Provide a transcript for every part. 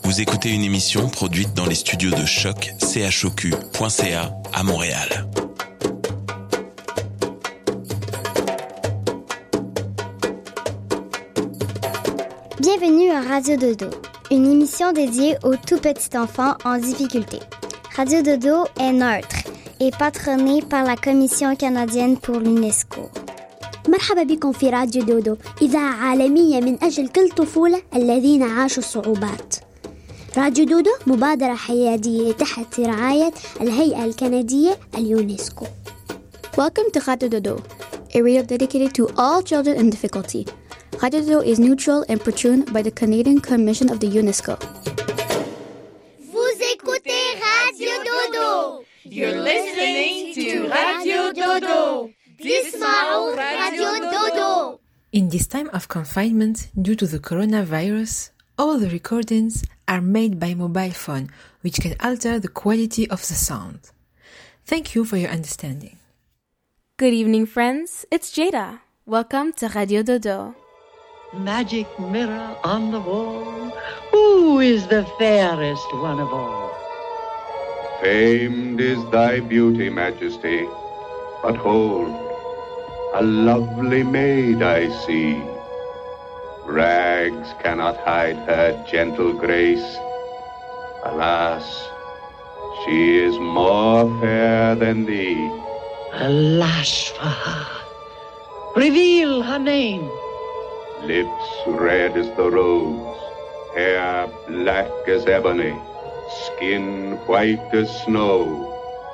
Vous écoutez une émission produite dans les studios de Choc, choq.ca à Montréal. Bienvenue à Radio Dodo, une émission dédiée aux tout petits enfants en difficulté. Radio Dodo est neutre et patronnée par la Commission canadienne pour l'UNESCO. مرحبا بكم في راديو دودو، إذاعة عالمية من أجل كل طفولة الذين عاشوا الصعوبات. راديو دودو مبادرة حيادية تحت رعاية الهيئة الكندية اليونسكو. Welcome to Radio Dodo, a radio dedicated to all children in difficulty. Radio Dodo is neutral and patroned by the Canadian Commission of the UNESCO. Vous écoutez Radio Dodo. You're listening to Radio Dodo. Disma'u Radio Dodo. In this time of confinement due to the coronavirus, all the recordings are made by mobile phone, which can alter the quality of the sound. Thank you for your understanding. Good evening, friends. It's Jada. Welcome to Radio Dodo. Magic mirror on the wall, who is the fairest one of all? Famed is thy beauty, Majesty, but hold, a lovely maid I see. Rags cannot hide her gentle grace. Alas, she is more fair than thee. Alas for her. Reveal her name. Lips red as the rose, hair black as ebony, skin white as snow.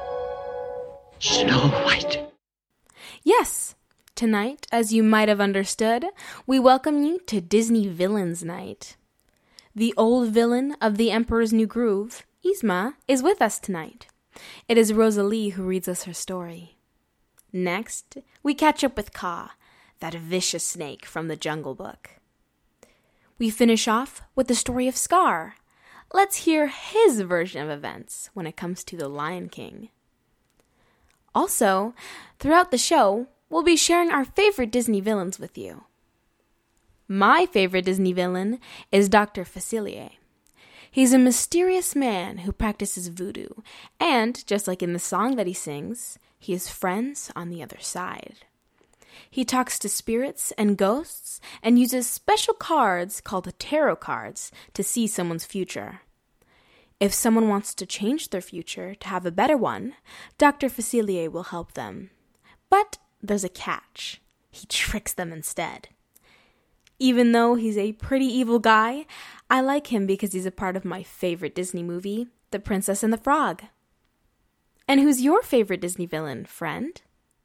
Snow White. Yes, tonight, as you might have understood, we welcome you to Disney Villains Night. The old villain of The Emperor's New Groove, Yzma, is with us tonight. It is Rosalie who reads us her story. Next, we catch up with Kaa, that vicious snake from the Jungle Book. We finish off with the story of Scar. Let's hear his version of events when it comes to the Lion King. Also, throughout the show, we'll be sharing our favorite Disney villains with you. My favorite Disney villain is Dr. Facilier. He's a mysterious man who practices voodoo, and, just like in the song that he sings, he has friends on the other side. He talks to spirits and ghosts and uses special cards called tarot cards to see someone's future. If someone wants to change their future to have a better one, Dr. Facilier will help them. But there's a catch. He tricks them instead. Even though he's a pretty evil guy, I like him because he's a part of my favorite Disney movie, The Princess and the Frog. And who's your favorite Disney villain, friend?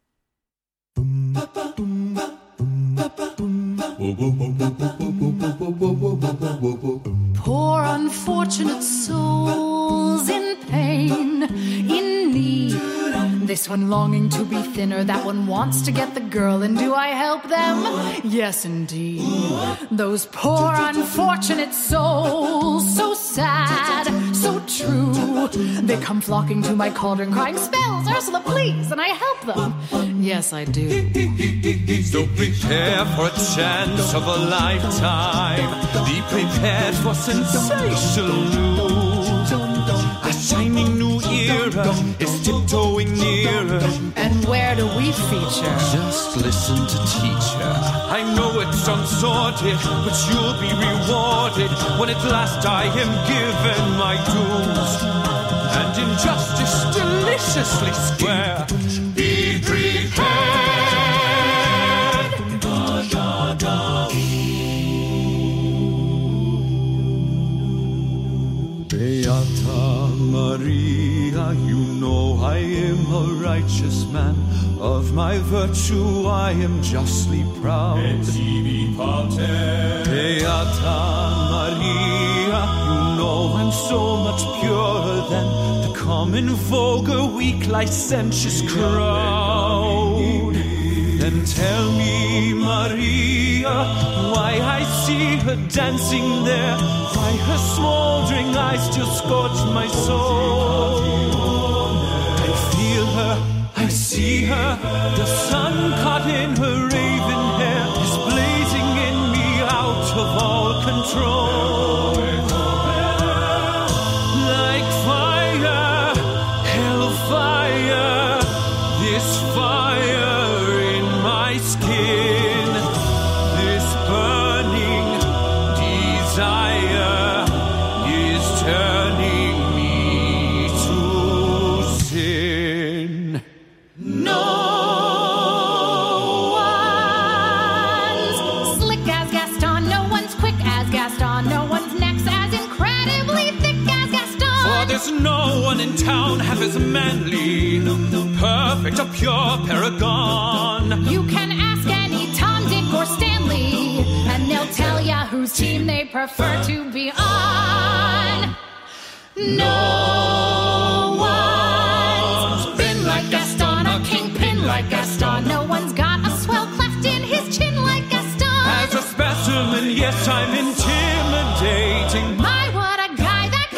Poor unfortunate souls in pain, in need. This one longing to be thinner, that one wants to get the girl, and do I help them? Yes, indeed. Those poor unfortunate souls, so sad, so true. They come flocking to my cauldron crying, "Spells, Ursula, please," and I help them. Yes, I do. So prepare for a chance of a lifetime. Be prepared for sensational news. A shining new era is tiptoeing nearer. And where do we feature? Just listen to teacher. I know it sounds sordid, but you'll be rewarded when at last I am given my dues. And injustice deliciously square. Be prepared. Beata Maria, you know I am a righteous man. Of my virtue I am justly proud. Beata Maria, you know I'm so much purer than the common vulgar, weak, licentious crowd. Then tell me, Maria, why I see her dancing there, why her smoldering eyes still scorch my soul. I feel her, I see her, the sun caught in her raven hair is blazing in me out of all control. Gaston. No one's neck's as incredibly thick as Gaston. For there's no one in town half as manly, perfect, a pure paragon. You can ask any Tom, Dick, or Stanley, and they'll tell ya whose team they prefer to be on. No one's been like Gaston, a kingpin like Gaston. No one's got a swell cleft in his chin like Gaston. As a specimen, yes, I'm intimidating. My, what a guy, that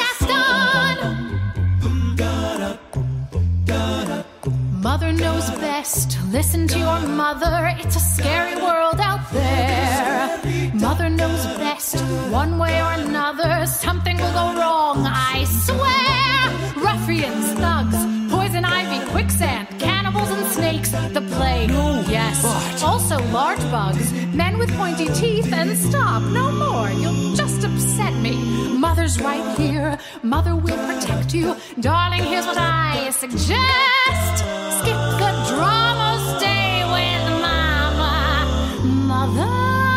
Gaston! Mother knows best. Listen to your mother. It's a scary world out there. Mother knows best. One way or another, something will go wrong, I swear. Ruffians, thugs, poison ivy, quicksand, cannibals and snakes, the plague, yes. Also large bugs, men with pointy teeth, and stop, no more, you'll just upset me. Mother's right here, mother will protect you. Darling, here's what I suggest. Skip the drama, stay with mama. Mother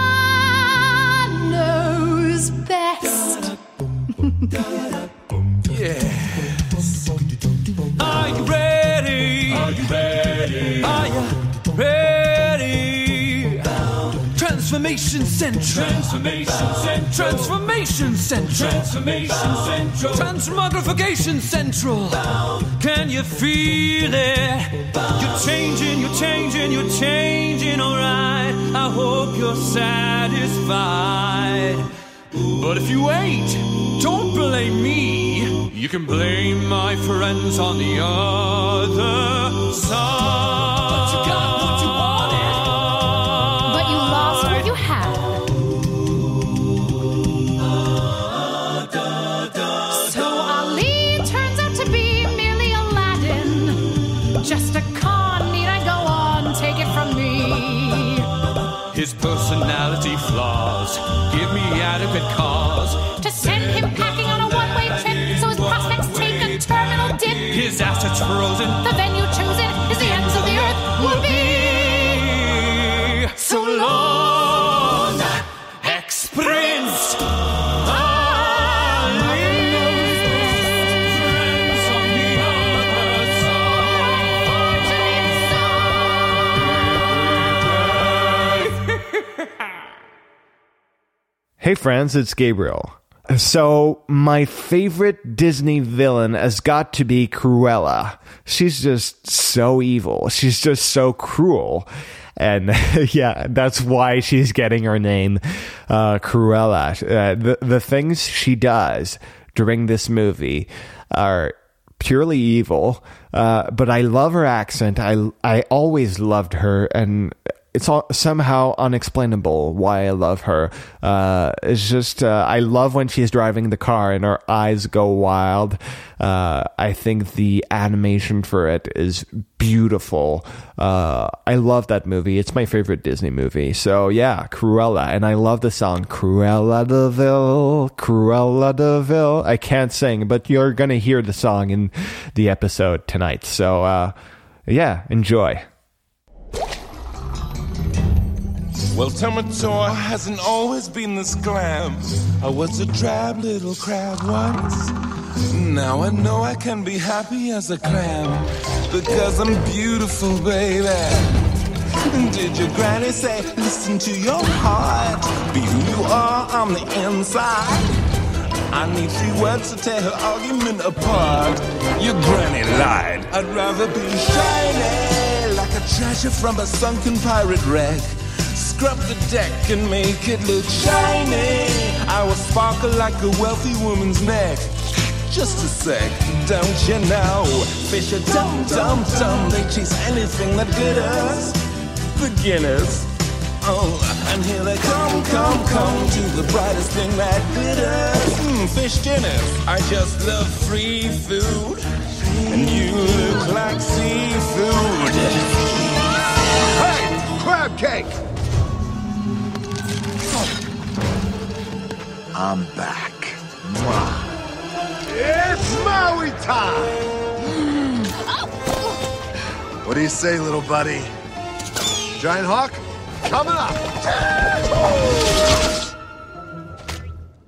knows best. Yes. Are you ready? Are you ready? Are you ready? Transformation Central. Transformation Central. Transformation Central. Transformation Central. Transmogrification Central. Can you feel it? You're changing, you're changing, you're changing, alright. I hope you're satisfied. But if you ain't, don't blame me. You can blame my friends on the other side. But you got what you wanted. But you lost what you had. So Ali turns out to be merely Aladdin. Just a con, need I go on? Take it from me. His personality flaws give me adequate cause to send him packing on a one-way trip, so his prospects take a terminal dip. His assets frozen. The venue chosen is the ends of the earth will be. So long, ex-prince. Hey friends, it's Gabriel. So, my favorite Disney villain has got to be Cruella. She's just so evil. She's just so cruel. And yeah, that's why she's getting her name, Cruella. The things she does during this movie are purely evil, but I love her accent. I always loved her, and it's all somehow unexplainable why I love her. It's just, I love when she's driving the car and her eyes go wild. I think the animation for it is beautiful. I love that movie. It's my favorite Disney movie. So yeah, Cruella. And I love the song, Cruella de Vil, Cruella de Vil. I can't sing, but you're going to hear the song in the episode tonight. So yeah, enjoy. Well, Tomator hasn't always been this glam. I was a drab little crab once. Now I know I can be happy as a clam, because I'm beautiful, baby. Did your granny say, listen to your heart, be who you are on the inside? I need 3 words to tear her argument apart. Your granny lied. I'd rather be shiny, like a treasure from a sunken pirate wreck. Scrub the deck and make it look shiny. I will sparkle like a wealthy woman's neck. Just a sec, don't you know? Fish are dumb, dumb, dumb. They chase anything that glitters. Beginners. Oh, and here they come to the brightest thing that glitters. Fish dinners. I just love free food, and you look like seafood. Hey, crab cake! I'm back. Mwah. It's Maui time! What do you say, little buddy? Giant Hawk, coming up!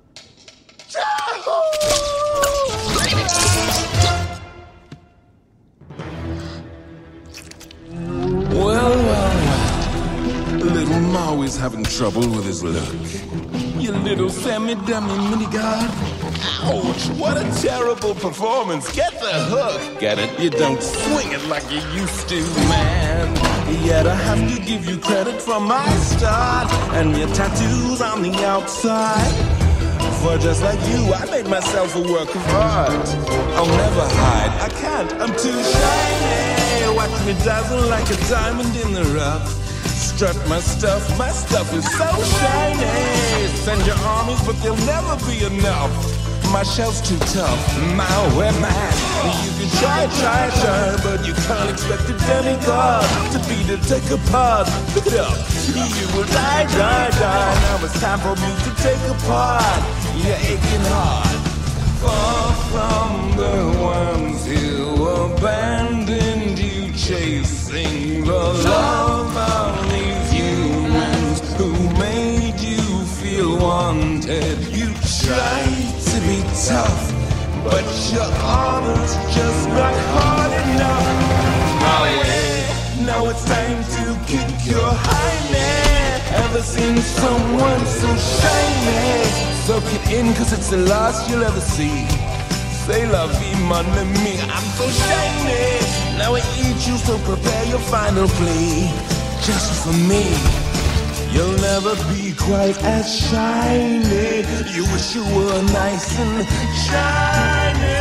trouble with his look. You little semi-dummy mini-god. Ouch, what a terrible performance. Get the hook. Get it? You don't swing it like you used to, man. Yet I have to give you credit for my start and your tattoos on the outside. For just like you, I made myself a work of art. I'll never hide, I can't, I'm too shiny. Watch me dazzle like a diamond in the rough. Strut my stuff is so shiny. Send your armies, but they'll never be enough. My shell's too tough, my man. You can try, but you can't expect a demigod to beat it, take apart. Pick it up, you will die. Now it's time for me to take apart your aching heart. Far from the ones who abandoned you, chasing the love of these humans who made you feel wanted. You tried to be tough, but your armor's just not hard enough. Oh yeah, now it's time to kick your highness. Ever seen someone so shiny? Soak it in, cause it's the last you'll ever see. Say la vie, mon ami, I'm so shiny. Now I eat you, so prepare your final plea. Just for me, you'll never be quite as shiny. You wish you were nice and shiny.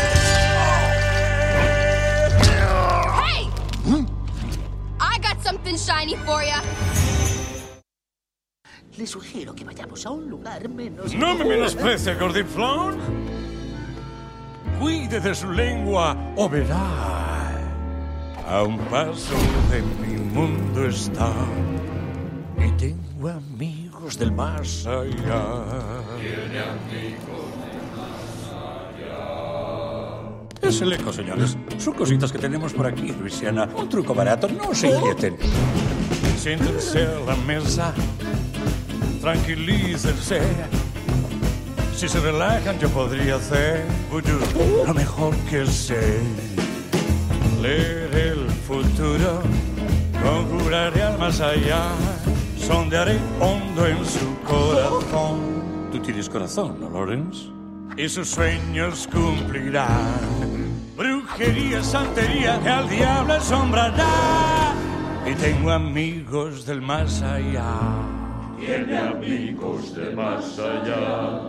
Hey! I got something shiny for ya. Le sugiero que vayamos a un lugar menos... ¡No me menosprecie, Gordiflón! Cuide de su lengua o verá. A un paso de mi mundo está. Y tengo amigos del más allá. Tiene amigos del más allá. Es el eco, señores. Son cositas que tenemos por aquí, Luisiana. Un truco barato, no se inquieten. Siéntense a la mesa. Tranquilícense. Si se relajan, yo podría hacer lo mejor que sé. Leer el futuro, conjuraré al más allá. Sondearé hondo en su corazón. Tú tienes corazón, ¿no, Lawrence? Y sus sueños cumplirán. Brujería, santería, que al diablo asombrará. Y tengo amigos del más allá. Tiene amigos del más allá.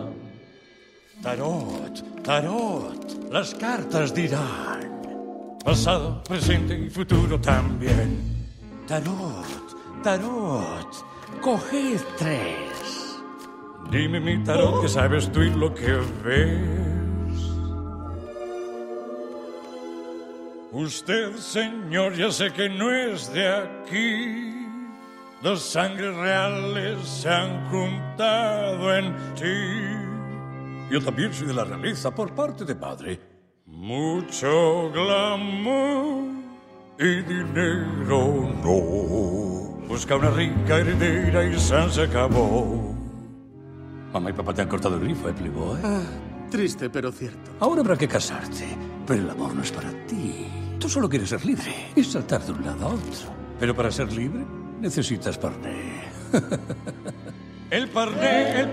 Tarot, las cartas dirán. Pasado, presente y futuro también. Tarot, coged 3. Dime, mi tarot, que sabes tú y lo que ves. Usted, señor, ya sé que no es de aquí. Dos sangres reales se han juntado en ti. Yo también soy de la realeza por parte de padre. Mucho glamour y dinero no. Busca una rica heredera y se acabó. Mamá y papá te han cortado el grifo, Playboy. Triste, pero cierto. Ahora habrá que casarte, pero el amor no es para ti. Tú solo quieres ser libre y saltar de un lado a otro. Pero para ser libre necesitas parné. El parné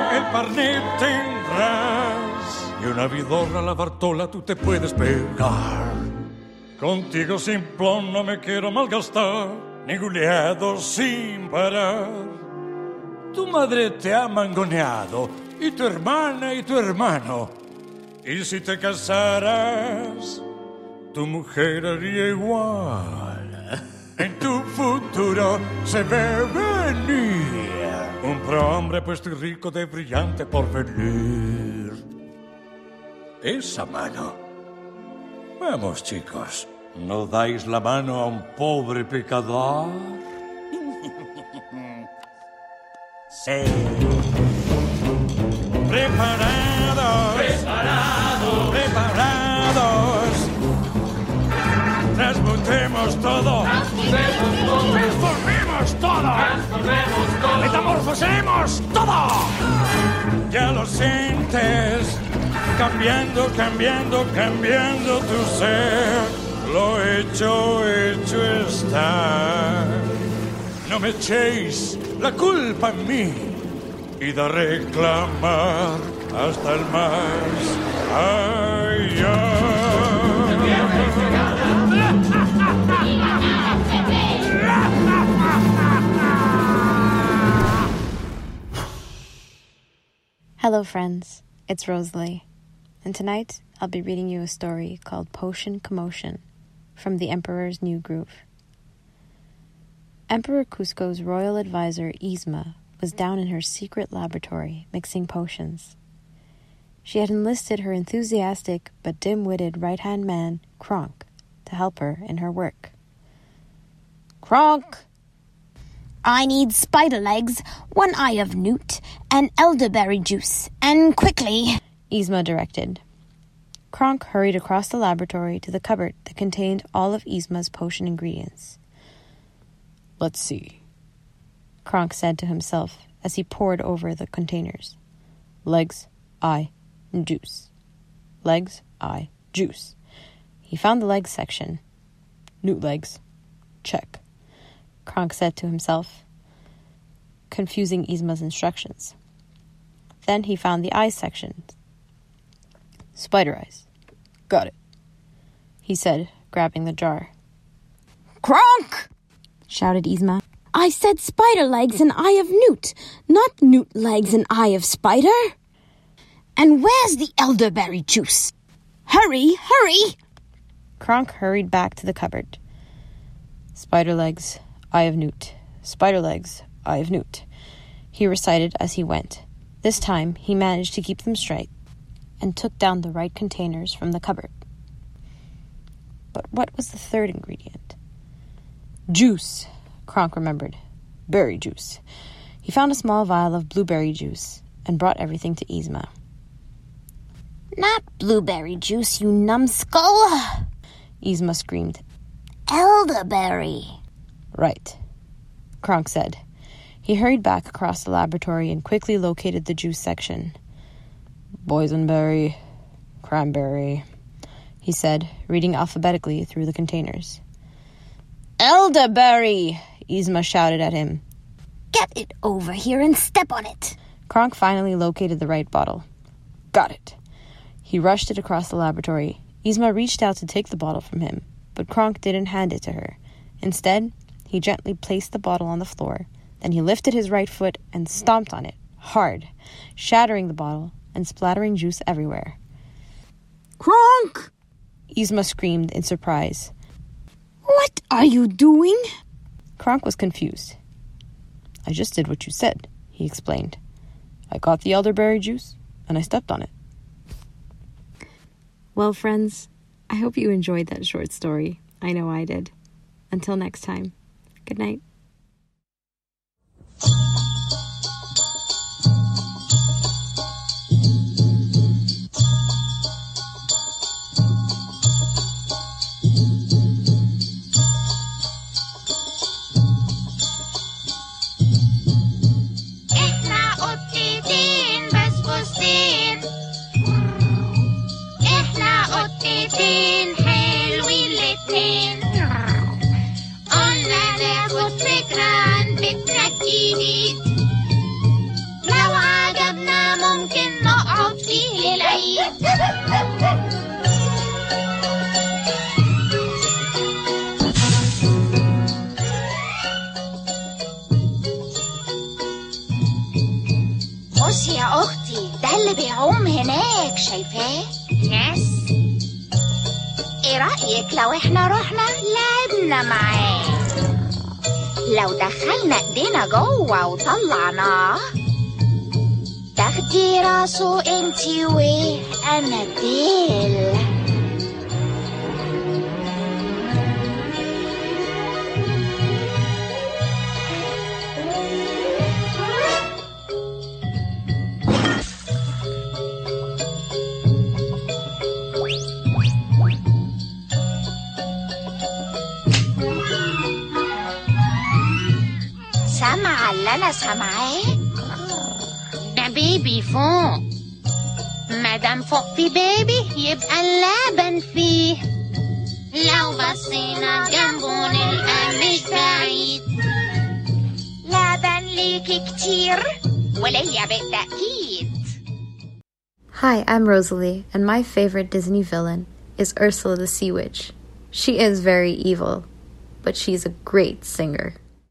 tendrás. Y una vidorra a la Bartola tú te puedes pegar. Contigo simplón no me quiero malgastar, ni guleado sin parar. Tu madre te ha mangoneado, y tu hermana y tu hermano. Y si te casaras, tu mujer haría igual. En tu futuro se ve venir un prohombre puesto y rico de brillante porvenir. Esa mano. Vamos, chicos, ¿no dais la mano a un pobre pecador? Sí. Preparados. Transmutemos todo. Transformemos todo. Metamorfosemos todo. Ya lo sientes. Cambiando tu ser. Lo hecho está. No me echéis la culpa en mí y de reclamar hasta el más allá. Hello friends, it's Rosalie, and tonight I'll be reading you a story called Potion Commotion from The Emperor's New Groove. Emperor Kuzco's royal advisor Yzma was down in her secret laboratory mixing potions. She had enlisted her enthusiastic but dim-witted right-hand man, Kronk, to help her in her work. Kronk! I need spider legs, 1 eye of newt, and elderberry juice, and quickly, Yzma directed. Kronk hurried across the laboratory to the cupboard that contained all of Yzma's potion ingredients. Let's see, Kronk said to himself as he pored over the containers. Legs, eye, juice. Legs, eye, juice. He found the legs section. Newt legs. Check. Kronk said to himself, confusing Yzma's instructions. Then he found the eyes section. Spider eyes. Got it, he said, grabbing the jar. Kronk! Shouted Yzma. I said spider legs and eye of newt, not newt legs and eye of spider. And where's the elderberry juice? Hurry, hurry! Kronk hurried back to the cupboard. Spider legs, eye of newt. Spider legs, eye of newt, he recited as he went. This time he managed to keep them straight and took down the right containers from the cupboard. But what was the third ingredient? Juice, Kronk remembered. Berry juice. He found a small vial of blueberry juice and brought everything to Yzma. Not blueberry juice, you numbskull! Yzma screamed. Elderberry. Right, Kronk said. He hurried back across the laboratory and quickly located the juice section. Boysenberry, cranberry, he said, reading alphabetically through the containers. Elderberry! Yzma shouted at him. Get it over here and step on it. Kronk finally located the right bottle. Got it. He rushed it across the laboratory. Yzma reached out to take the bottle from him, but Kronk didn't hand it to her. Instead, he gently placed the bottle on the floor. Then he lifted his right foot and stomped on it, hard, shattering the bottle and splattering juice everywhere. Kronk! Yzma screamed in surprise. What are you doing? Kronk was confused. I just did what you said, he explained. I got the elderberry juice and I stepped on it. Well, friends, I hope you enjoyed that short story. I know I did. Until next time, good night. بصي يا أختي، ده اللي بيعوم هناك، شايفاه؟ يس. إيه رأيك لو إحنا رحنا لعبنا معاه؟ لو دخلنا إيدينا جوه وطلعناه، تاخدي راسه إنتي وأنا ديل. سامعة اللي أنا سامعاه؟ ده بيبي فوق. مادام فوق في بيبي يبقى اللبن فيه. لو بصينا جنبه نلقى مش بعيد. لبن ليكي كتير وليا بدك أكيد. Hi, I'm Rosalie, and my favorite Disney villain is Ursula the Sea Witch. She is very evil, but she's a great singer.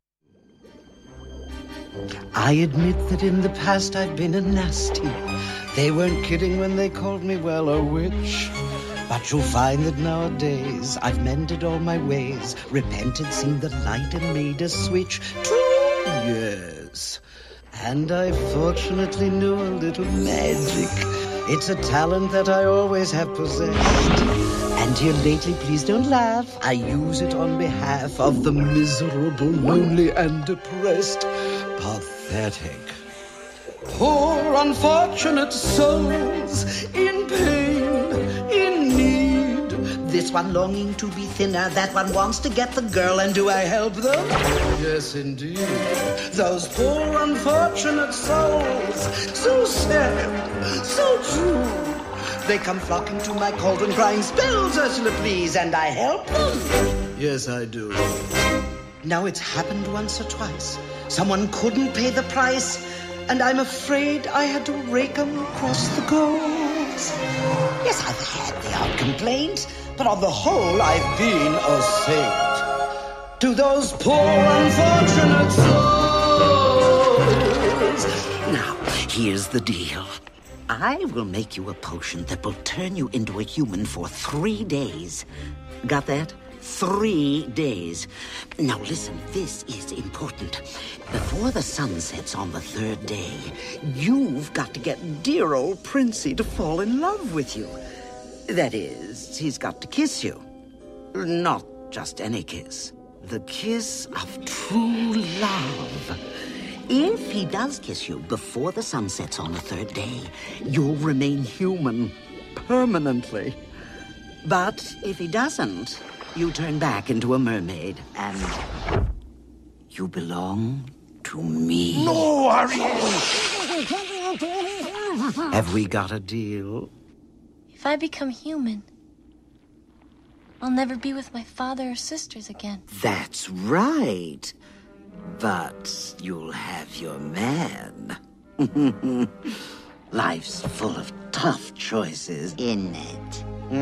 I admit that in the past I've been a nasty. They weren't kidding when they called me, well, a witch. But you'll find that nowadays I've mended all my ways, repented, seen the light, and made a switch. 2 years. And I fortunately knew a little magic. It's a talent that I always have possessed. And here lately, please don't laugh, I use it on behalf of the miserable, lonely, and depressed. Pathetic. Poor unfortunate souls in pain, in need. This one longing to be thinner, that one wants to get the girl, and do I help them? Yes, indeed. Those poor unfortunate souls, so sad, so true. They come flocking to my cauldron, crying, spells, Ursula, please, and I help them. Yes, I do. Now it's happened once or twice. Someone couldn't pay the price, and I'm afraid I had to rake 'em across the coals. Yes, I've had the odd complaint, but on the whole, I've been a saint. To those poor unfortunate souls. Now, here's the deal. I will make you a potion that will turn you into a human for 3 days. Got that? 3 days. Now listen, this is important. Before the sun sets on the 3rd day, you've got to get dear old Princey to fall in love with you. That is, he's got to kiss you. Not just any kiss. The kiss of true love. If he does kiss you before the sun sets on the 3rd day, you'll remain human permanently. But if he doesn't, you turn back into a mermaid, and you belong to me. No, Ariel! Have we got a deal? If I become human, I'll never be with my father or sisters again. That's right. But you'll have your man. Life's full of tough choices, isn't it?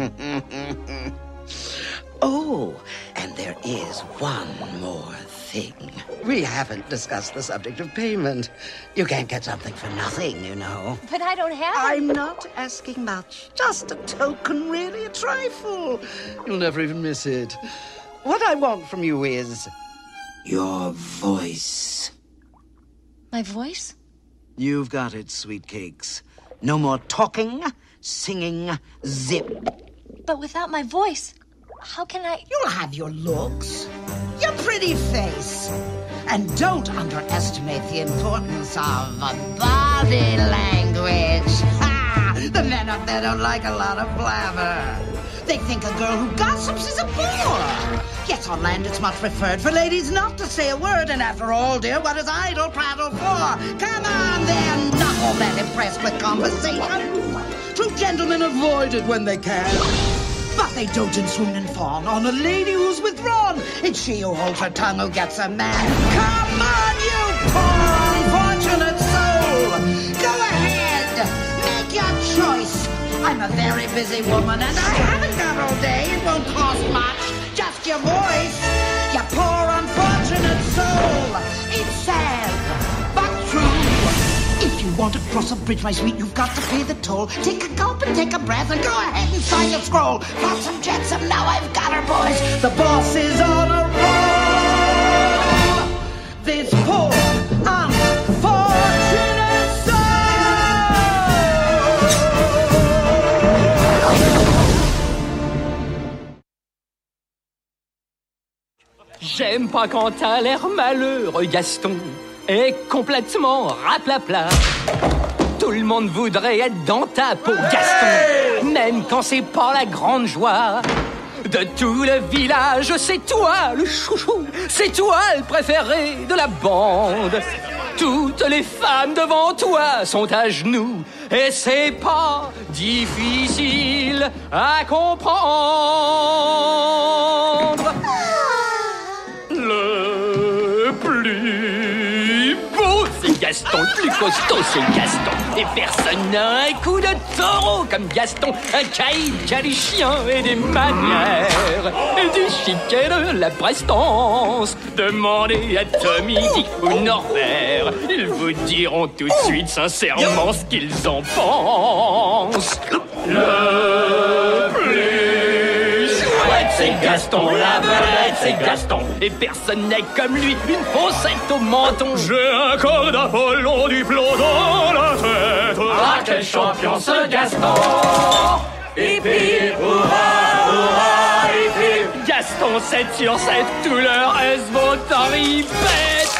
Oh, and there is one more thing. We haven't discussed the subject of payment. You can't get something for nothing, you know. But I don't have I'm not asking much. Just a token, really, a trifle. You'll never even miss it. What I want from you is your voice. My voice? You've got it, sweet cakes. No more talking, singing, zip. But without my voice, how can I... You'll have your looks, your pretty face. And don't underestimate the importance of body language. Ha! The men up there don't like a lot of blabber. They think a girl who gossips is a bore. Yes, on land it's much preferred for ladies not to say a word. And after all, dear, what is idle prattle for? Come on, then, not all that impressed with conversation. True gentlemen avoid it when they can. But they dote and swoon and fawn on a lady who's withdrawn. It's she who holds her tongue who gets a man. Come on, you poor unfortunate soul. Go ahead, make your choice. I'm a very busy woman and I haven't got all day. It won't cost much, just your voice. You poor unfortunate soul. It's sad, but true. If you want to cross a bridge, my sweet, you've got to pay the toll. Take a gulp and take a breath and go ahead and sign your scroll. Flotsam jetsam, now I've got her, boys. The boss is on a roll. This poor unfortunate J'aime pas quand t'as l'air malheureux, Gaston. Est complètement raplapla. Tout le monde voudrait être dans ta peau, Gaston. Même quand c'est pas la grande joie. De tout le village, c'est toi le chouchou. C'est toi le préféré de la bande. Toutes les femmes devant toi sont à genoux. Et c'est pas difficile à comprendre. Le plus beau Gaston, le plus costaud c'est Gaston. Et personne n'a un coup de taureau comme Gaston. Un caïd qui a des chiens et des manières. Et du chic et de la prestance. Demandez à Tommy, Dick ou Norbert. Ils vous diront tout de suite sincèrement ce qu'ils en pensent. Le plus chouette, c'est Gaston, la vedette, c'est Gaston. Et personne n'est comme lui, une fossette au menton. J'ai un corps d'Apollon, du plomb dans la tête. Ah, quel champion ce Gaston! Hip hip, hurrah, hurrah, hip hip. Gaston 7 sur 7, tout le reste vont en ripette.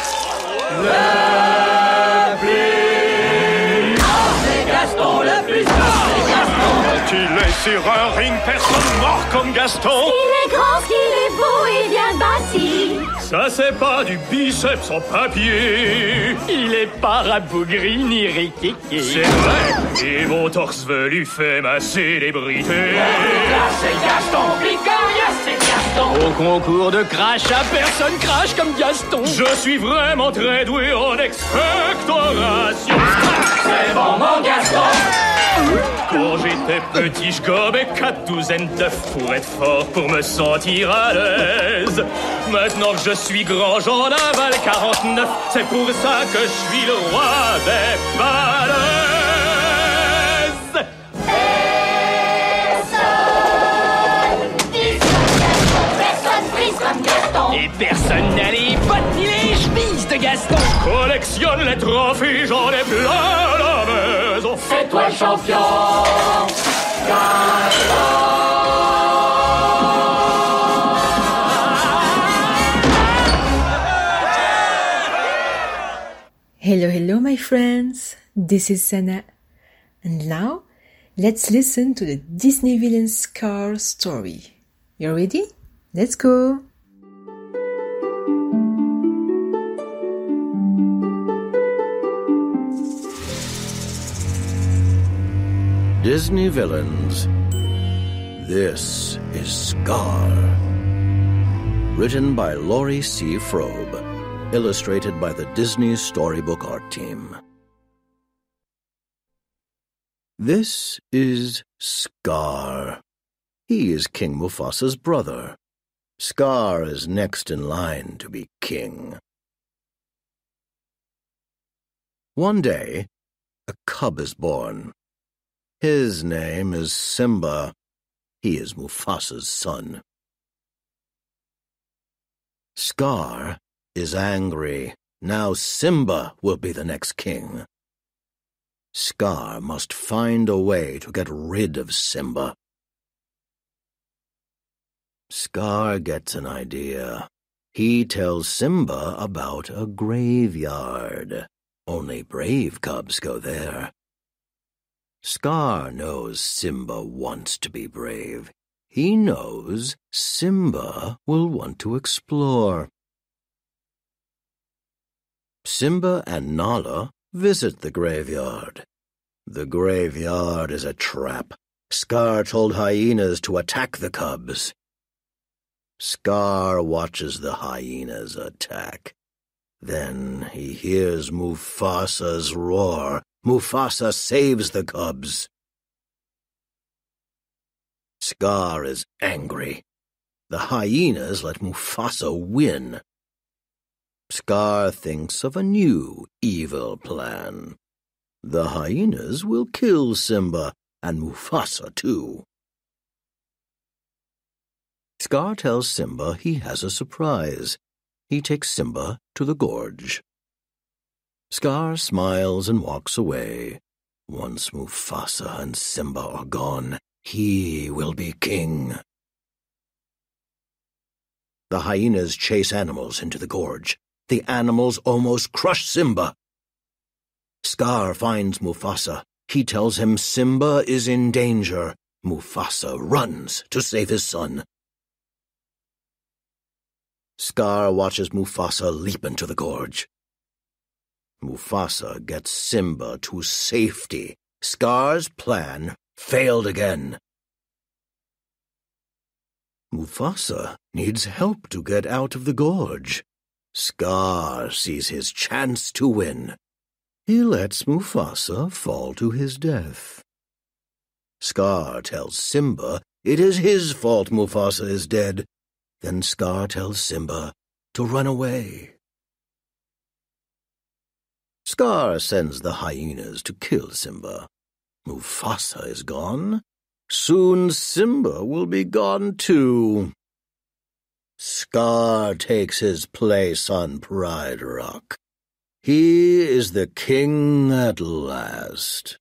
Le plus c'est Gaston, le plus fort, c'est Gaston. Quand il est sur un ring, personne mord comme Gaston. Il est grand, qu'il est beau et bien bâti. Ça c'est pas du biceps en papier. Il est pas rabougri ni riquiqui. C'est vrai, et mon torse velu fait ma célébrité. Là c'est Gaston, Picaria c'est Gaston. Au concours de crash, personne crache comme Gaston. Je suis vraiment très doué en expectoration. C'est bon mon Gaston. Quand j'étais petit, je gobais 4 douzaines d'œufs pour être fort, pour me sentir à l'aise. Maintenant que je suis grand, j'en avale 49. C'est pour ça que je suis le roi des balaises. Personne prise comme Gaston. Et personne n'a les bottes ni les chemises de Gaston. Collectionne les trophées, j'en ai plein la maison. C'est toi le champion, Gaston. Hello, hello, my friends. This is Sana. And now, let's listen to the Disney villain Scar story. You ready? Let's go! Disney Villains. This is Scar. Written by Laurie C. Frobe. Illustrated by the Disney Storybook Art Team. This is Scar. He is King Mufasa's brother. Scar is next in line to be king. One day, a cub is born. His name is Simba. He is Mufasa's son. Scar is angry. Now Simba will be the next king. Scar must find a way to get rid of Simba. Scar gets an idea. He tells Simba about a graveyard. Only brave cubs go there. Scar knows Simba wants to be brave. He knows Simba will want to explore. Simba and Nala visit the graveyard. The graveyard is a trap. Scar told hyenas to attack the cubs. Scar watches the hyenas attack. Then he hears Mufasa's roar. Mufasa saves the cubs. Scar is angry. The hyenas let Mufasa win. Scar thinks of a new evil plan. The hyenas will kill Simba and Mufasa too. Scar tells Simba he has a surprise. He takes Simba to the gorge. Scar smiles and walks away. Once Mufasa and Simba are gone, he will be king. The hyenas chase animals into the gorge. The animals almost crush Simba. Scar finds Mufasa. He tells him Simba is in danger. Mufasa runs to save his son. Scar watches Mufasa leap into the gorge. Mufasa gets Simba to safety. Scar's plan failed again. Mufasa needs help to get out of the gorge. Scar sees his chance to win. he lets Mufasa fall to his death. Scar tells Simba it is his fault Mufasa is dead. Then Scar tells Simba to run away. Scar sends the hyenas to kill Simba. Mufasa is gone. Soon Simba will be gone too. Scar takes his place on Pride Rock. He is the king at last.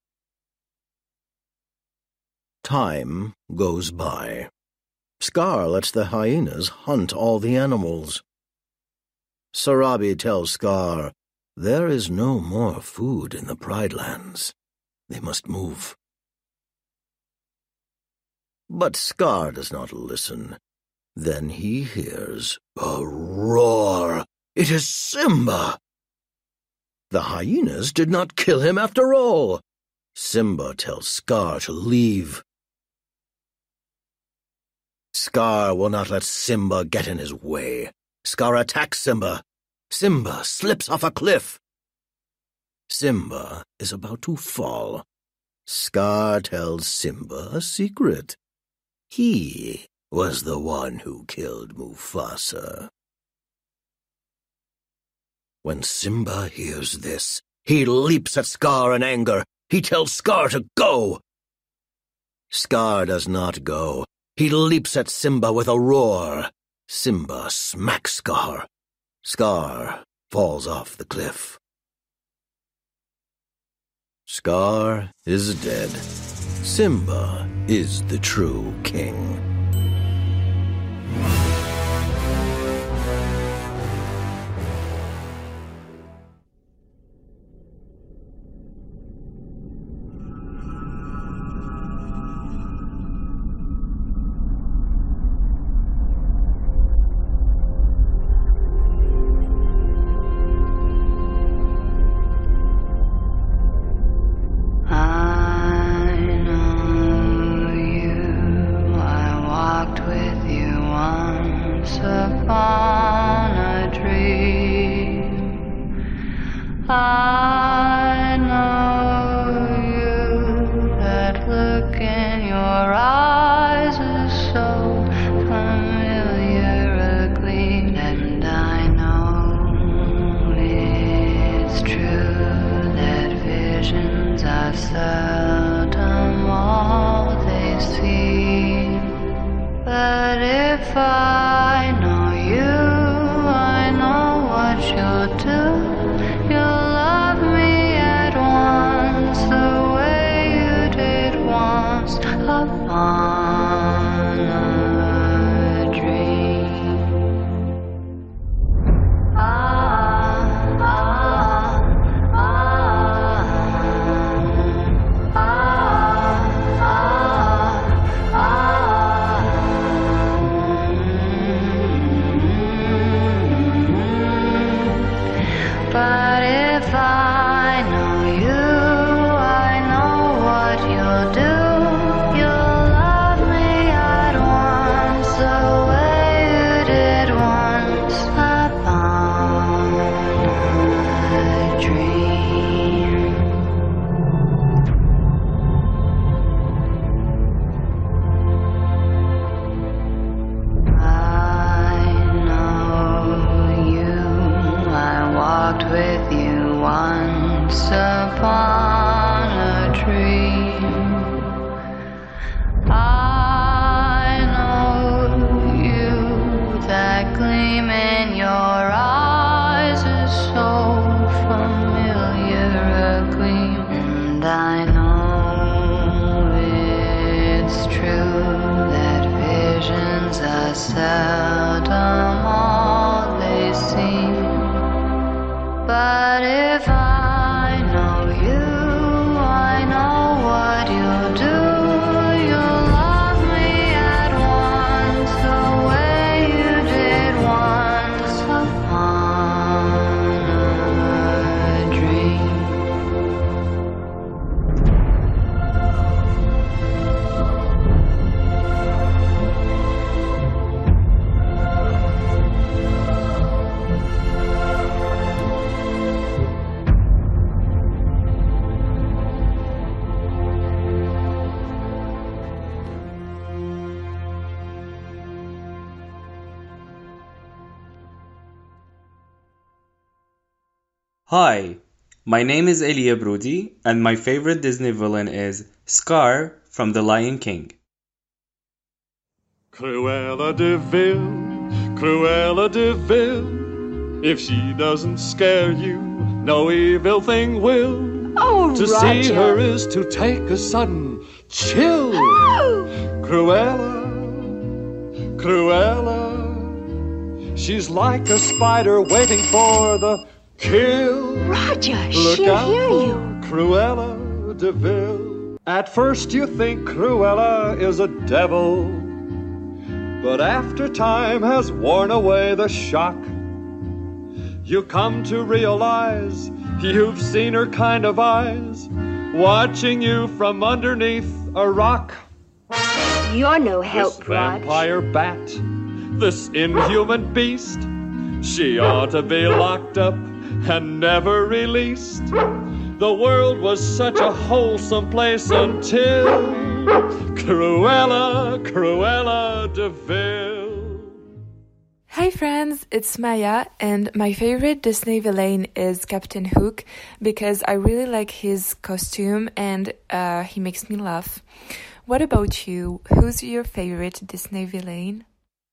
Time goes by. Scar lets the hyenas hunt all the animals. Sarabi tells Scar there is no more food in the Pride Lands. They must move. But Scar does not listen. Then he hears a roar. It is Simba! The hyenas did not kill him after all. Simba tells Scar to leave. Scar will not let Simba get in his way. Scar attacks Simba. Simba slips off a cliff. Simba is about to fall. Scar tells Simba a secret. He was the one who killed Mufasa. When Simba hears this, he leaps at Scar in anger. He tells Scar to go. Scar does not go. He leaps at Simba with a roar. Simba smacks Scar. Scar falls off the cliff. Scar is dead. Simba is the true king. I know you, that look in your eyes is so familiar a gleam, and I know it's true that visions are seldom all they seem. But if I know you, I know what you'll do. You'll love me at once, the way you did once upon a dream. But if I know you, I know what you'll do. You'll love me at once, the way you did once upon a dream. I know you, I walked with you once upon a dream. I know you, that gleam in your eyes is so familiar a gleam, and I know it's true that visions are seldom all they seem. But if I know you, I know what you'll do. You'll love me at once, the way you did once upon a dream. Hi, my name is Elia Brody, and my favorite Disney villain is Scar from The Lion King. Cruella de Vil, Cruella de Vil. If she doesn't scare you, no evil thing will. Oh, to Roger. see her is to take a sudden chill. Oh. Cruella, Cruella. She's like a spider waiting for the kill. Roger, Look she'll out hear for you. Cruella de Vil. At first you think Cruella is a devil, but after time has worn away the shock, you come to realize you've seen her kind of eyes watching you from underneath a rock. You're no This help, Rog. vampire bat, this inhuman beast, she ought to be locked up and never released. The world was such a wholesome place until Cruella, Cruella de Vil. Hi friends, it's Maya, and my favorite Disney villain is Captain Hook because I really like his costume and he makes me laugh. What about you? Who's your favorite Disney villain?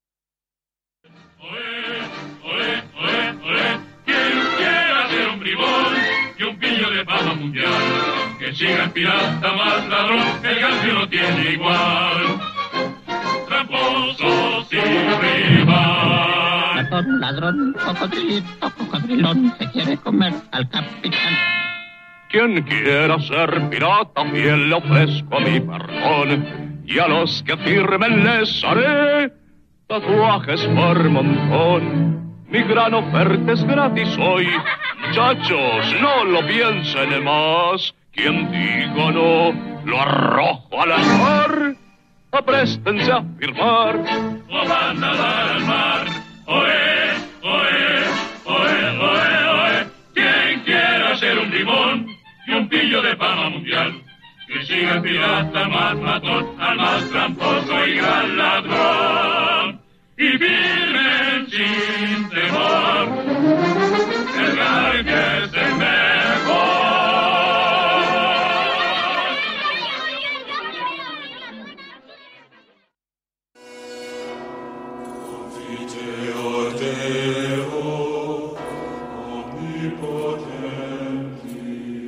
Que siga el pirata más ladrón, el Garfio no tiene igual. Tramposo sin rival. Ratón, ladrón, cocodrilito, cocodrilón, se quiere comer al capitán. Quien quiera ser pirata fiel le ofrezco mi perdón, y a los que firmen les haré tatuajes por montón. Mi gran oferta es gratis hoy, muchachos, no lo piensen más. Quien diga no, lo arrojo a la mar. Apréstense a firmar, o van a dar al mar. Oe, oe, oe, oe, oe. Quien quiera ser un limón y un pillo de fama mundial, que siga el pirata más matón, al más tramposo y gran ladrón. Y firmen sin temor, el Garfio es el mejor. Confiteor Deo, omnipotenti,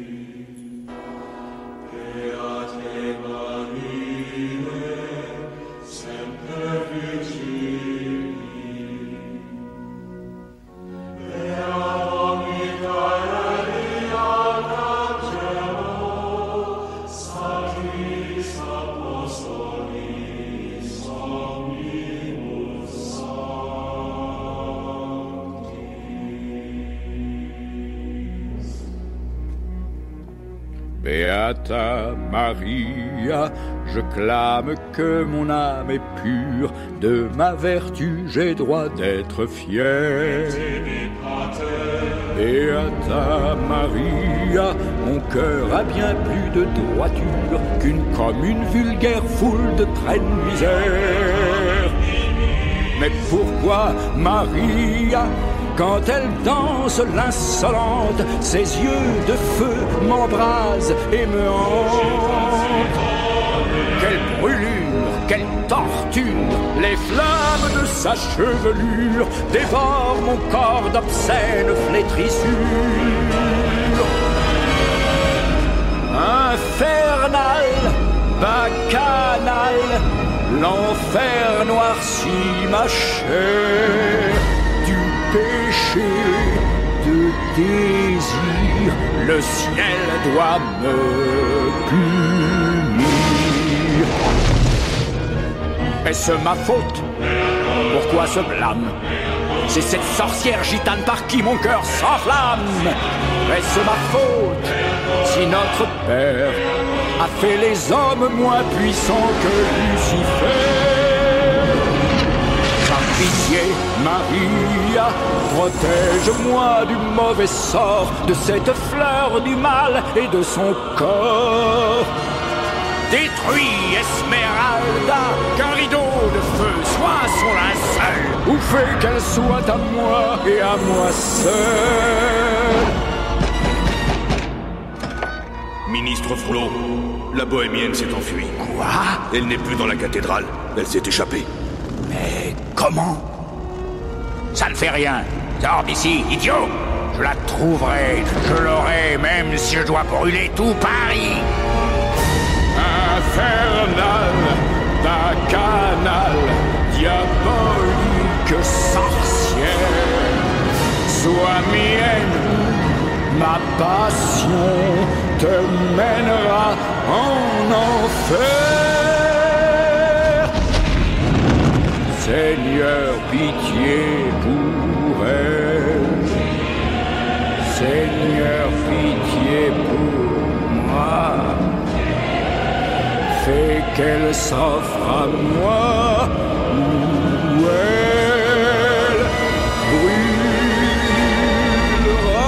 Beate Mariae, semper Virgini, Beata Michael Arcangelo, Sanctis Apostolis omnibus Beata Maria, je clame que mon âme est pure, de ma vertu j'ai droit d'être fier. Beata Maria, mon cœur a bien plus de droiture qu'une commune vulgaire foule de traînes misères. Mais pourquoi Maria, quand elle danse l'insolente, ses yeux de feu m'embrasent et me hantent? Quelle brûlure, quelle torture, les flammes de sa chevelure dévorent mon corps d'obscènes flétrissures. Infernal, bacchanal, l'enfer noircit ma chair. Du péché, de désir, le ciel doit me punir. Est-ce ma faute? Pourquoi ce blâme? C'est cette sorcière gitane par qui mon cœur s'enflamme. Est-ce ma faute si notre Père a fait les hommes moins puissants que Lucifer? Par pitié, Maria, protège-moi du mauvais sort, de cette fleur du mal et de son corps. Détruis Esmeralda, qu'un rideau de feu soit son linceul, ou fais qu'elle soit à moi et à moi seul. Ministre Frollo, la bohémienne s'est enfuie. Quoi? Elle n'est plus dans la cathédrale. Elle s'est échappée. Mais comment? Ça ne fait rien. Sors d'ici, idiot! Je la trouverai, je l'aurai, même si je dois brûler tout Paris! Infernal, bacchanal, diabolique sorcière, sois mienne, ma passion te mènera en enfer. Seigneur, pitié pour elle. Seigneur, pitié pour moi. Fais qu'elle s'offre à moi, ou elle brûlera.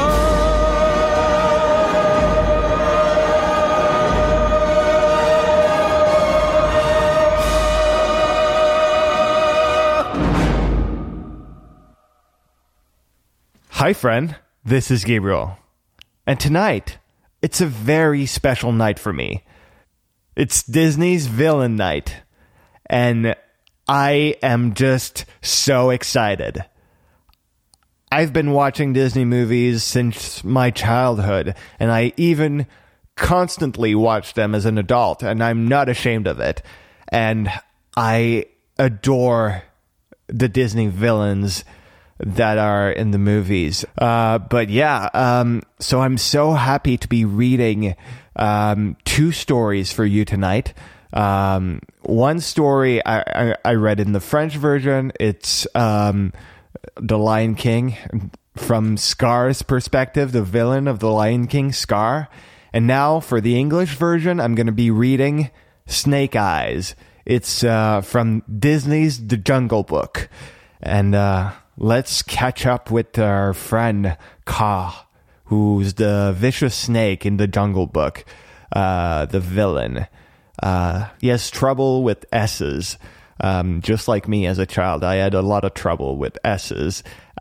Hi, friend. This is Gabriel. And tonight, it's a very special night for me. It's Disney's Villain Night. And I am just so excited. I've been watching Disney movies since my childhood, and I even constantly watch them as an adult, and I'm not ashamed of it. And I adore the Disney villains that are in the movies. But yeah, so I'm so happy to be reading two stories for you tonight. One story I read in the French version. It's The Lion King, from Scar's perspective, the villain of The Lion King, Scar. And now for the English version, I'm going to be reading Snake Eyes. It's from Disney's The Jungle Book. And let's catch up with our friend Kaa, who's the vicious snake in the Jungle Book, the villain. He has trouble with S's, just like me as a child. I had a lot of trouble with S's,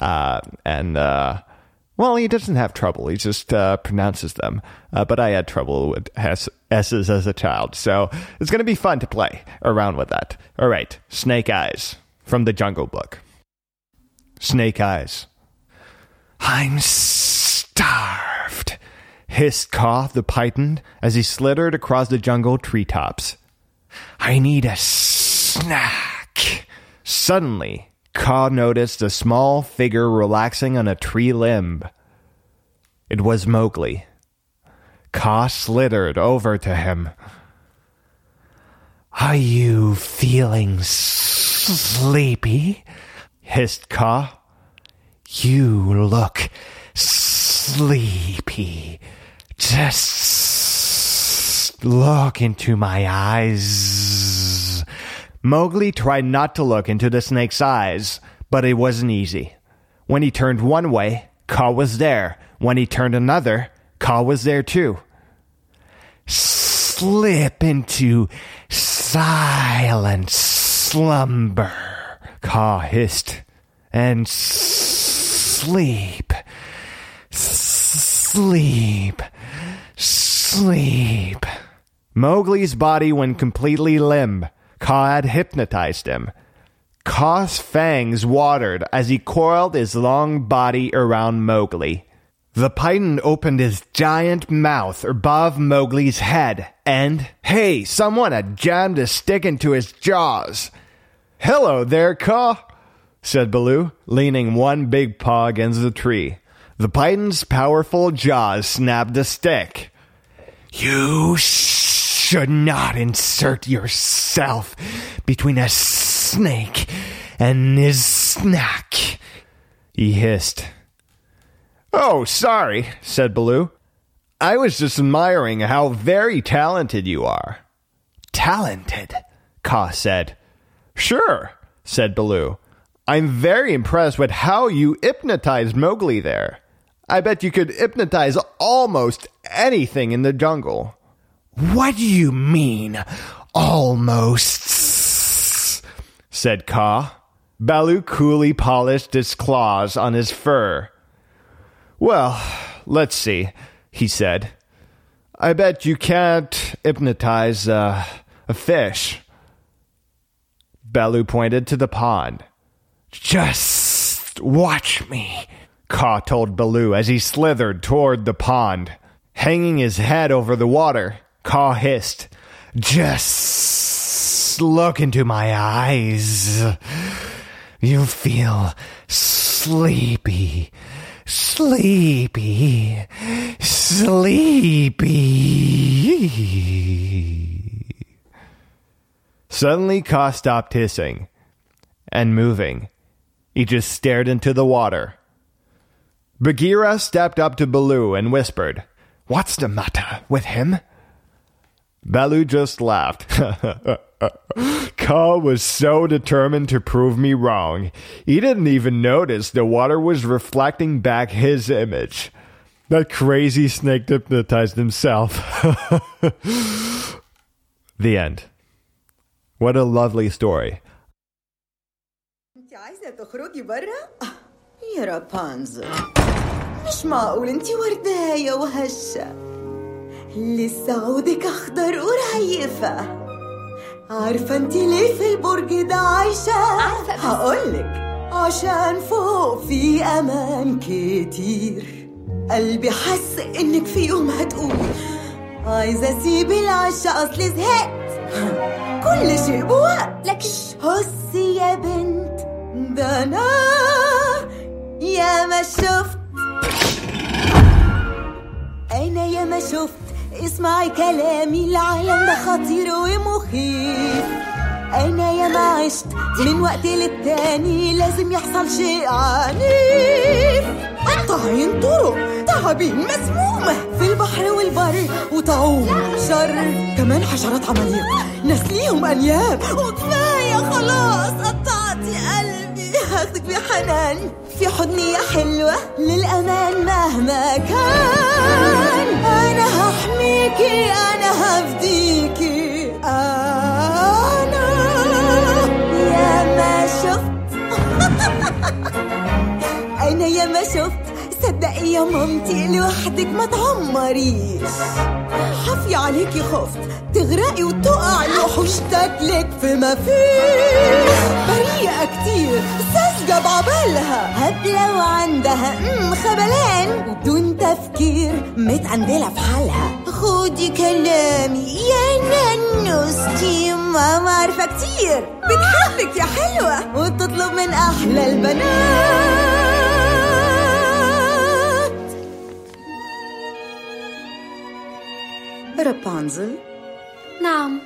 well, he doesn't have trouble. He just pronounces them. But I had trouble with S's as a child, so it's going to be fun to play around with that. All right, Snake Eyes from the Jungle Book. Snake Eyes. I'm starved, hissed Kaa the python as he slithered across the jungle treetops. I need a snack. Suddenly, Kaa noticed a small figure relaxing on a tree limb. It was Mowgli. Kaa slithered over to him. Are you feeling sleepy? Hissed Kaa. You look sleepy. Just look into my eyes. Mowgli tried not to look into the snake's eyes, but it wasn't easy. When he turned one way, Kaa was there. When he turned another, Kaa was there too. Slip into silent slumber, Kaa hissed, and sleep, sleep, sleep. Mowgli's body went completely limp. Kaa had hypnotized him. Kaa's fangs watered as he coiled his long body around Mowgli. The python opened his giant mouth above Mowgli's head, and, hey, someone had jammed a stick into his jaws. Hello there, Kaa, said Baloo, leaning one big paw against the tree. The python's powerful jaws snapped the stick. You should not insert yourself between a snake and his snack, he hissed. Oh, sorry, said Baloo. I was just admiring how very talented you are. Talented? Kaa said. Sure, said Baloo. I'm very impressed with how you hypnotized Mowgli there. I bet you could hypnotize almost anything in the jungle. What do you mean, almost? Said Kaa. Baloo coolly polished his claws on his fur. Well, let's see, he said. I bet you can't hypnotize a fish. Baloo pointed to the pond. Just watch me, Kaa told Baloo as he slithered toward the pond. Hanging his head over the water, Kaa hissed, just look into my eyes. You'll feel sleepy, sleepy, sleepy. Suddenly, Kaa stopped hissing and moving. He just stared into the water. Bagheera stepped up to Baloo and whispered, "What's the matter with him?" Baloo just laughed. Kaa was so determined to prove me wrong. He didn't even notice the water was reflecting back his image. That crazy snake hypnotized himself. The end. What a lovely story. انت عايزة تخرجي برا؟ يا رابنزل مش معقول انت ورداية وهشة لسه عودك اخضر ورهيفة عارفة انت ليه في البرج ده عايشة؟ هقولك عشان فوق في امان كتير قلبي حس انك في يوم هتقولي عايزة اسيب العشا اصلي زهقت كل شيء بوقت لكن هسي يا بنت ده انا يا ما شفت انا يا ما شفت اسمعي كلامي العالم ده خطير ومخيف انا يا ما عشت من وقت للتاني لازم يحصل شيء عنيف قطاعين طرق تعابين مسمومة في البحر والبر وطعوم شر كمان حشرات عماليق ناس ليهم انياب وكفاية خلاص قطعتي قلبي هاخدك بحنان في حضني يا حلوة للأمان مهما كان أنا هحميكي أنا هفديكي أنا يا ما شفت أنا يا ما شفت صدقي يا مامتي لوحدك ما تعمريش حفي عليكي خفت تغرقي وتقعي وحوش تاكلك في ما فيش بريئة كتير ساذجة بعبالها هبلة وعندها خبلان وبدون تفكير متعندلة في حالها خدي كلامي يا نانوستي ماما عارفة كتير بتحبك يا حلوة وتطلب من أحلى البنات رابنزل نعم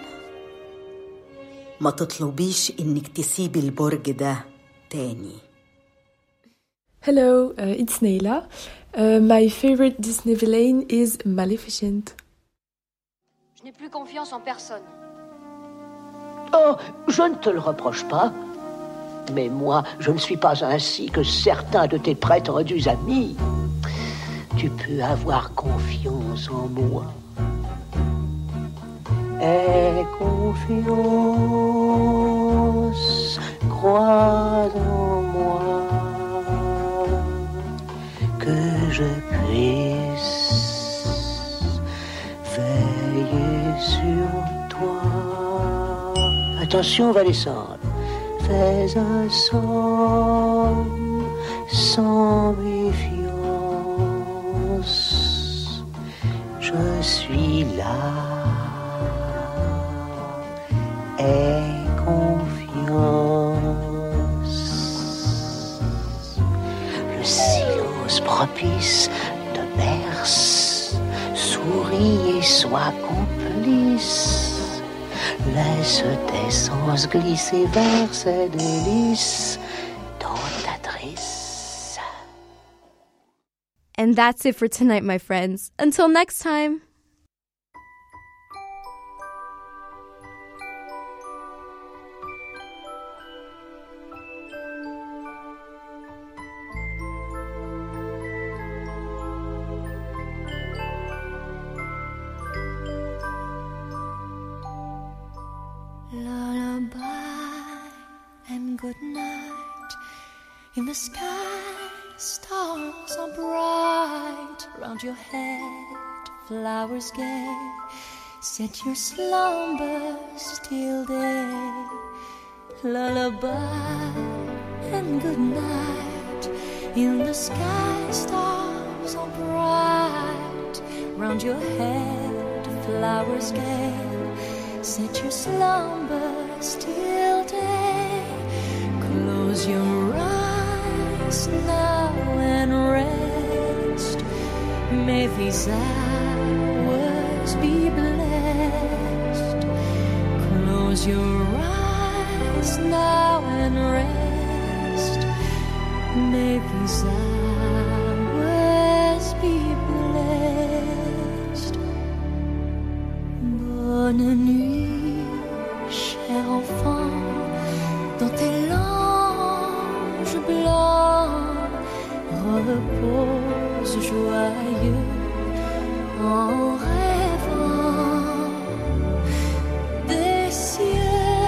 ما تطلبيش إنك تسيبي البرج ده تاني. Hello, it's Neila. My favorite Disney villain is Maleficent. Je n'ai plus confiance en personne. Oh, je ne te le reproche pas. Mais moi, je ne suis pas ainsi que certains de tes prétendus amis. Tu peux avoir confiance en moi. Aie confiance, crois en moi, que je puisse veiller sur toi. Attention, on va descendre. Fais un somme sans méfiance. Je suis là. Aie confiance. Le silence propice te berce. Souris et sois complice. Laisse tes sens glisser vers ces délices dans ta drisse. And that's it for tonight, my friends. Until next time. Lullaby and good night. In the sky, stars are bright. Round your head, flowers gay, set your slumbers till day. Lullaby and good night, in the sky stars are bright, round your head flowers gay, set your slumbers till day. Close your eyes now and rest, may these hours be blessed. Close your eyes now and rest, may these hours be blessed. Bonne nuit, cher enfant, dans tes langes blancs, repose joyeux en rêvant des cieux.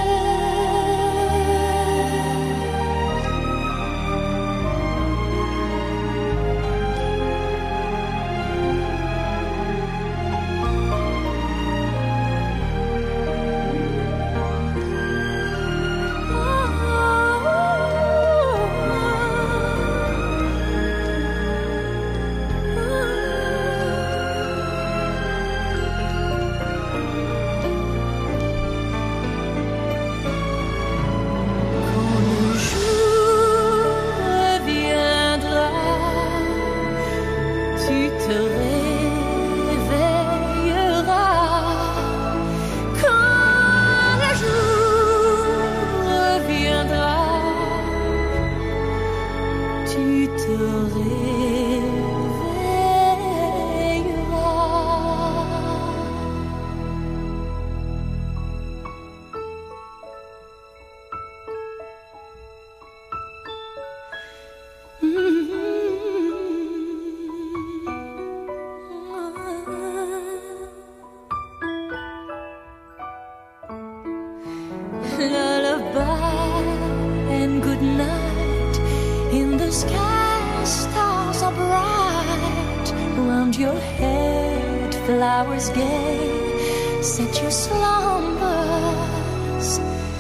Lullaby and good night, in the sky stars are bright, round your head flowers gay, set your slumbers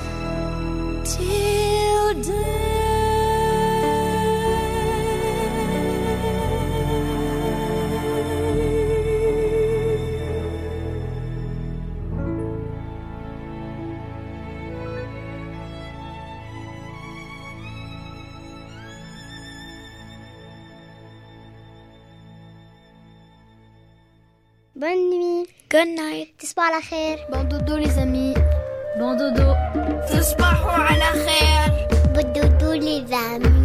till day. Bonne nuit. Good night. تصبحوا على خير. Bon dodo les amis. Bon dodo. تصبحوا على خير. Bon dodo les amis.